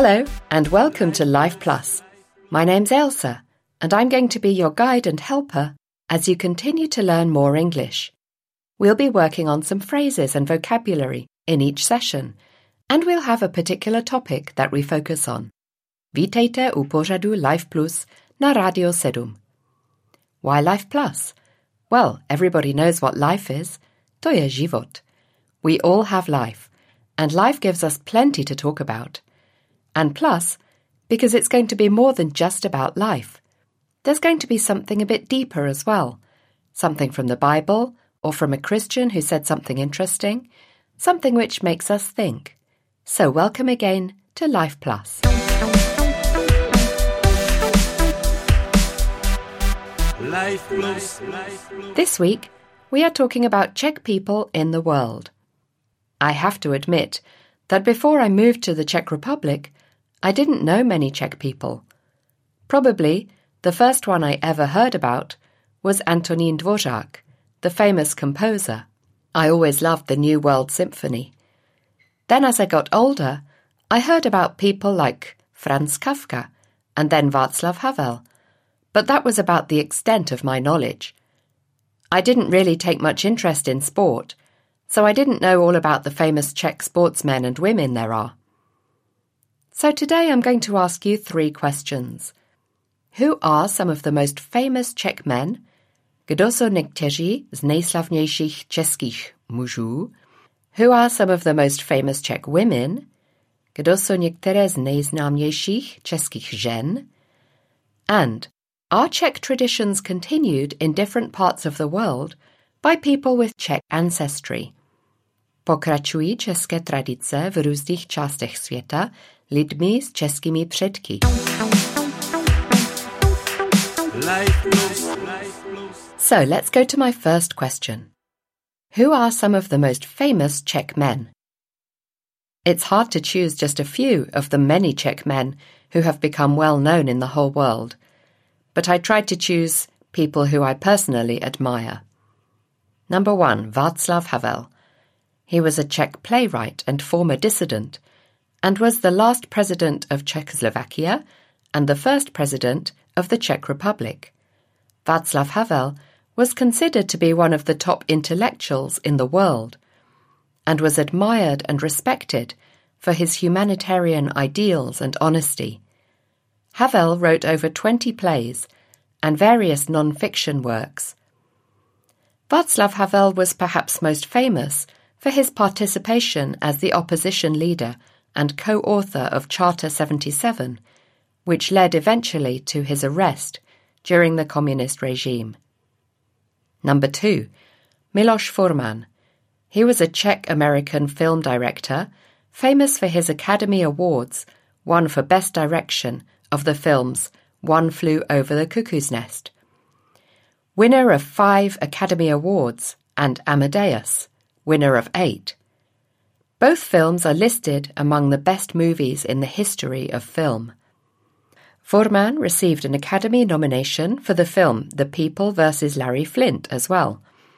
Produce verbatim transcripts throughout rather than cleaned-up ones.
Hello and welcome to Life Plus. My name's Ailsa and I'm going to be your guide and helper as you continue to learn more English. We'll be working on some phrases and vocabulary in each session and we'll have a particular topic that we focus on. Vítejte u pořadu Life Plus na Radio sedm. Why Life Plus? Well, everybody knows what life is. To je život. We all have life, and life gives us plenty to talk about. And plus, because it's going to be more than just about life. There's going to be something a bit deeper as well. Something from the Bible, or from a Christian who said something interesting. Something which makes us think. So welcome again to Life Plus. Life Plus. This week, we are talking about Czech people in the world. I have to admit that before I moved to the Czech Republic, I didn't know many Czech people. Probably the first one I ever heard about was Antonín Dvořák, the famous composer. I always loved the New World Symphony. Then as I got older, I heard about people like Franz Kafka and then Václav Havel, but that was about the extent of my knowledge. I didn't really take much interest in sport, so I didn't know all about the famous Czech sportsmen and women there are. So today I'm going to ask you three questions. Who are some of the most famous Czech men? Kdo jsou někteří z nejslavnějších českých mužů? Who are some of the most famous Czech women? Kdo jsou některé z nejznámějších českých žen? And are Czech traditions continued in different parts of the world by people with Czech ancestry? Pokračují české tradice v různých částech světa lidmi s českými předky. So let's go to my first question. Who are some of the most famous Czech men? It's hard to choose just a few of the many Czech men who have become well known in the whole world, but I tried to choose people who I personally admire. Number one, Václav Havel. He was a Czech playwright and former dissident, and was the last president of Czechoslovakia and the first president of the Czech Republic. Václav Havel was considered to be one of the top intellectuals in the world, and was admired and respected for his humanitarian ideals and honesty. Havel wrote over twenty plays and various non-fiction works. Václav Havel was perhaps most famous for his participation as the opposition leader and co-author of Charter seventy-seven, which led eventually to his arrest during the communist regime. Number two, Miloš Forman. He was a Czech-American film director, famous for his Academy Awards, won for Best Direction of the films One Flew Over the Cuckoo's Nest. Winner of five Academy Awards, and Amadeus, winner of eight. Both films are listed among the best movies in the history of film. Forman received an Academy nomination for the film The People versus Larry Flynt as well.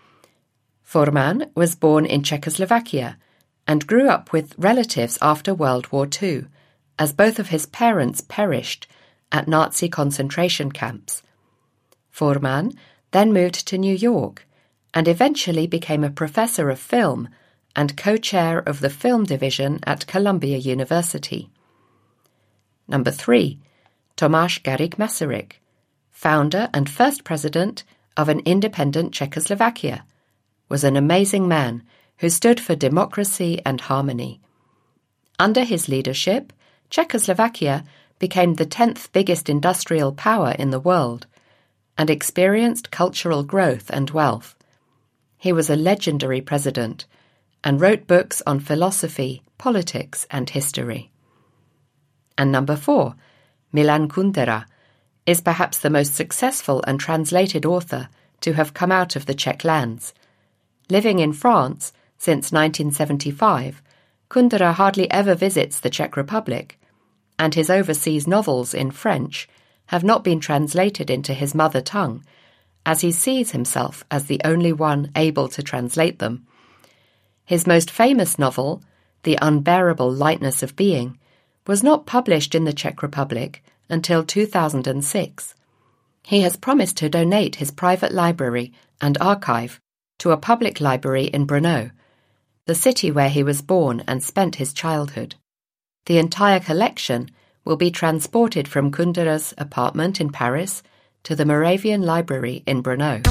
Forman was born in Czechoslovakia and grew up with relatives after World War Two, as both of his parents perished at Nazi concentration camps. Forman then moved to New York and eventually became a professor of film and co-chair of the film division at Columbia University. Number three, Tomáš Garrigue Masaryk, founder and first president of an independent Czechoslovakia, was an amazing man who stood for democracy and harmony. Under his leadership, Czechoslovakia became the tenth biggest industrial power in the world and experienced cultural growth and wealth. He was a legendary president and wrote books on philosophy, politics, and history. And number four, Milan Kundera, is perhaps the most successful and translated author to have come out of the Czech lands. Living in France since nineteen seventy-five, Kundera hardly ever visits the Czech Republic, and his overseas novels in French have not been translated into his mother tongue, as he sees himself as the only one able to translate them. His most famous novel, The Unbearable Lightness of Being, was not published in the Czech Republic until two thousand six. He has promised to donate his private library and archive to a public library in Brno, the city where he was born and spent his childhood. The entire collection will be transported from Kundera's apartment in Paris to the Moravian Library in Brno.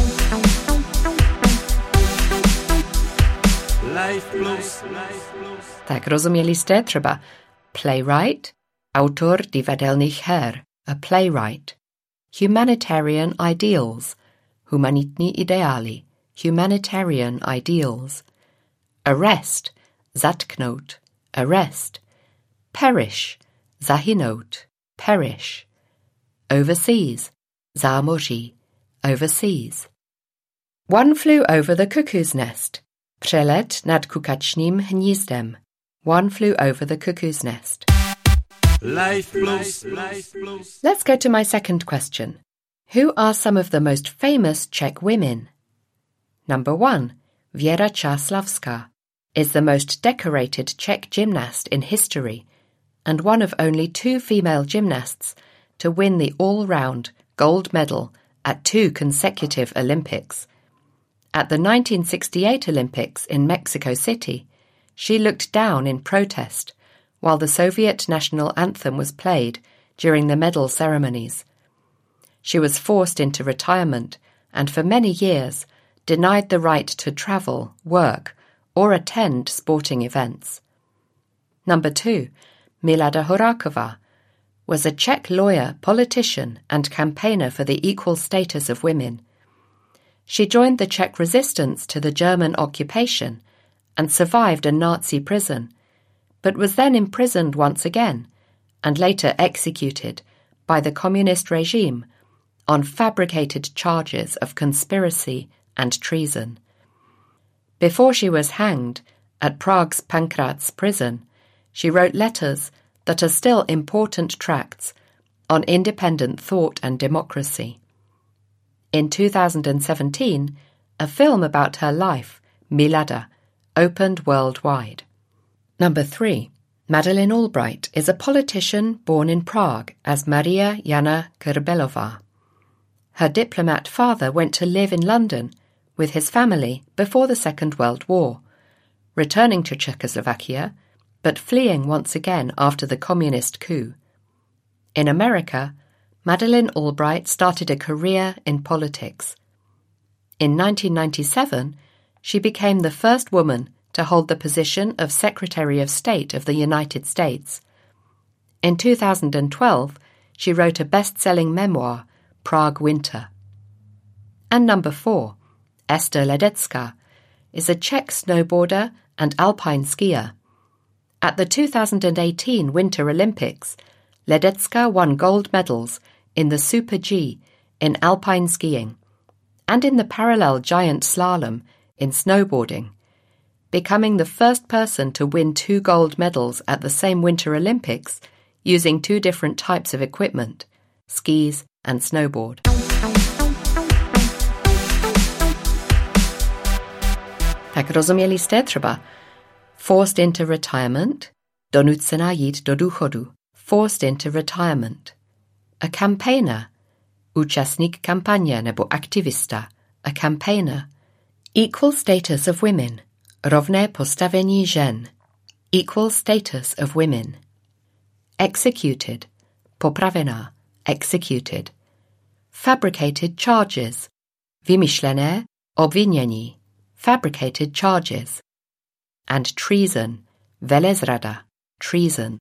Life Plus. Tak rozuměli jste třeba playwright, autor divadelných her, a playwright. Humanitarian ideals, humanitní ideály, humanitarian ideals. Arrest, zatknout, arrest. Perish, zahynout, perish. Overseas, zámoří, overseas. One flew over the cuckoo's nest. Přelet nad kukačním hnízdem. One flew over the cuckoo's nest. Life Plus. Life Plus. Let's go to my second question. Who are some of the most famous Czech women? Number one, Věra Čáslavská is the most decorated Czech gymnast in history and one of only two female gymnasts to win the all-round gold medal at two consecutive Olympics. At the nineteen sixty-eight Olympics in Mexico City, she looked down in protest while the Soviet national anthem was played during the medal ceremonies. She was forced into retirement and for many years denied the right to travel, work, or attend sporting events. Number two, Milada Horáková, was a Czech lawyer, politician, and campaigner for the equal status of women. She joined the Czech resistance to the German occupation and survived a Nazi prison, but was then imprisoned once again and later executed by the communist regime on fabricated charges of conspiracy and treason. Before she was hanged at Prague's Pankrácz prison, she wrote letters that are still important tracts on independent thought and democracy. In two thousand seventeen, a film about her life, Milada, opened worldwide. Number three, Madeleine Albright is a politician born in Prague as Maria Jana Krbelová. Her diplomat father went to live in London with his family before the Second World War, returning to Czechoslovakia, but fleeing once again after the communist coup. In America, Madeleine Albright started a career in politics. In nineteen ninety-seven, she became the first woman to hold the position of Secretary of State of the United States. In two thousand twelve, she wrote a best-selling memoir, Prague Winter. And number four, Ester Ledecká, is a Czech snowboarder and alpine skier. At the two thousand eighteen Winter Olympics, Ledecká won gold medals in the Super G in alpine skiing and in the parallel giant slalom in snowboarding, becoming the first person to win two gold medals at the same Winter Olympics using two different types of equipment, skis and snowboard. Tak rozuměli jste třeba forced into retirement, donucená jít do důchodu, forced into retirement. A campaigner, účastník kampaně nebo aktivista, a campaigner. Equal status of women, rovné postavení žen, equal status of women. Executed, popravená, executed. Fabricated charges, vymyšlené obvinění, fabricated charges. And treason, velezrada, treason.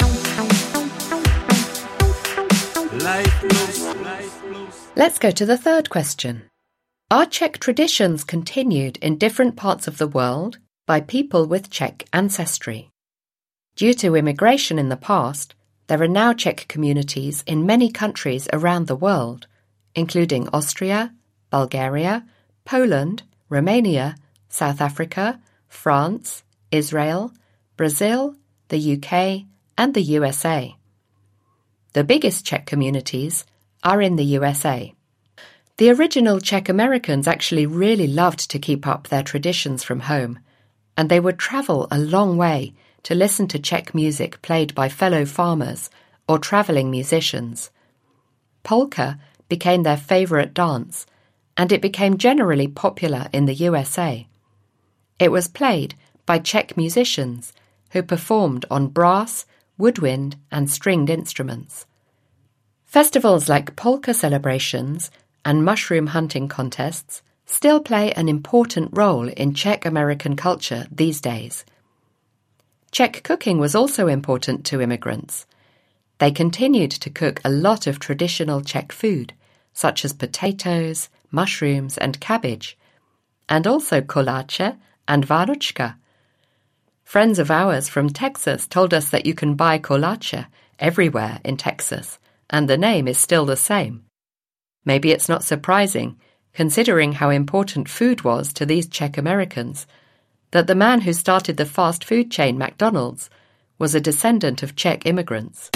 Let's go to the third question. Are Czech traditions continued in different parts of the world by people with Czech ancestry? Due to immigration in the past, there are now Czech communities in many countries around the world, including Austria, Bulgaria, Poland, Romania, South Africa, France, Israel, Brazil, the U K, and the U S A. The biggest Czech communities are in the U S A. The original Czech Americans actually really loved to keep up their traditions from home, and they would travel a long way to listen to Czech music played by fellow farmers or travelling musicians. Polka became their favourite dance, and it became generally popular in the U S A. It was played by Czech musicians who performed on brass, woodwind and stringed instruments. Festivals like polka celebrations and mushroom hunting contests still play an important role in Czech American culture these days. Czech cooking was also important to immigrants. They continued to cook a lot of traditional Czech food, such as potatoes, mushrooms and cabbage, and also koláče and vánočka. Friends of ours from Texas told us that you can buy koláče everywhere in Texas, and the name is still the same. Maybe it's not surprising, considering how important food was to these Czech Americans, that the man who started the fast food chain McDonald's was a descendant of Czech immigrants.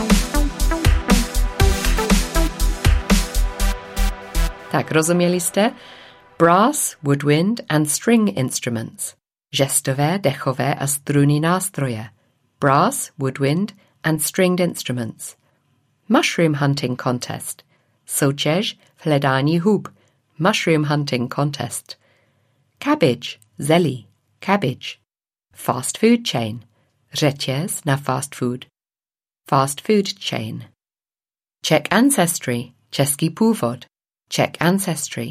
Tak, rozuměli jste? Brass, woodwind and string instruments. Žestové, dechové a strunní nástroje. Brass, woodwind and stringed instruments. Mushroom hunting contest. Soutěž v hledání hub. Mushroom hunting contest. Cabbage, zelí, cabbage. Fast food chain. Řetěz na fast food. Fast food chain. Czech ancestry, český původ. Czech ancestry.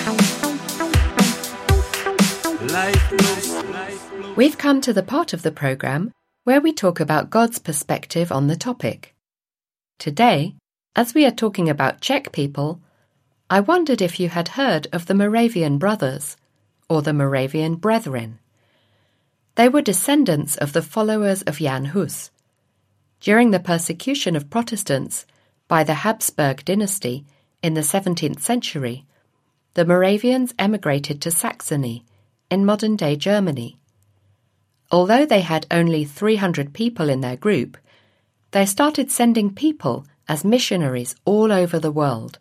We've come to the part of the program where we talk about God's perspective on the topic. Today, as we are talking about Czech people, I wondered if you had heard of the Moravian Brothers, or the Moravian Brethren. They were descendants of the followers of Jan Hus. During the persecution of Protestants by the Habsburg dynasty in the seventeenth century, the Moravians emigrated to Saxony, in modern-day Germany. Although they had only three hundred people in their group, they started sending people as missionaries all over the world.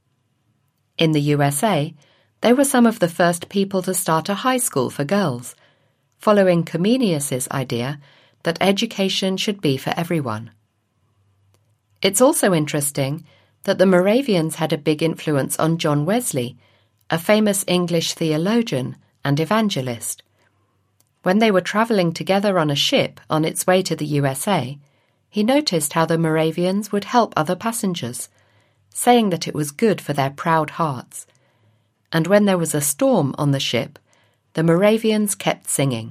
In the U S A, they were some of the first people to start a high school for girls, following Comenius's idea that education should be for everyone. It's also interesting that the Moravians had a big influence on John Wesley, a famous English theologian and evangelist. When they were travelling together on a ship on its way to the U S A, he noticed how the Moravians would help other passengers, saying that it was good for their proud hearts. And when there was a storm on the ship, the Moravians kept singing.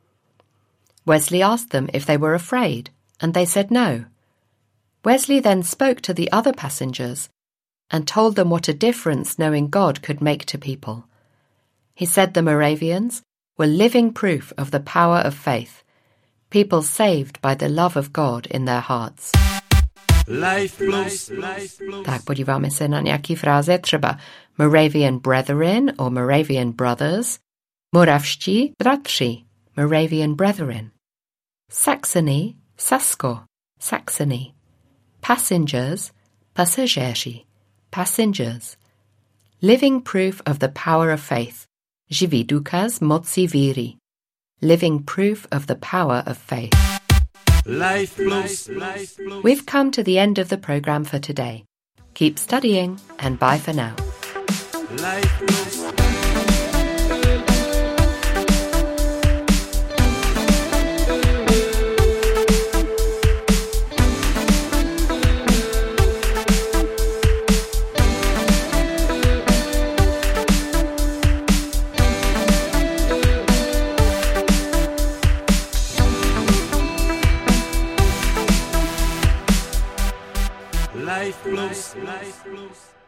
Wesley asked them if they were afraid, and they said no. Wesley then spoke to the other passengers and told them what a difference knowing God could make to people. He said the Moravians were living proof of the power of faith, people saved by the love of God in their hearts. Life plus. Tak, podíváme se na nějaký fráze, třeba Moravian Brethren or Moravian Brothers, Moravští bratři, Moravian Brethren, Saxony, Sasko, Saxony, Passengers, pasažéři, Passengers, Living proof of the power of faith, živý důkaz moci víry, Living proof of the power of faith. Life plus. We've come to the end of the program for today. Keep studying and bye for now. Life plus. Life plus. Life plus.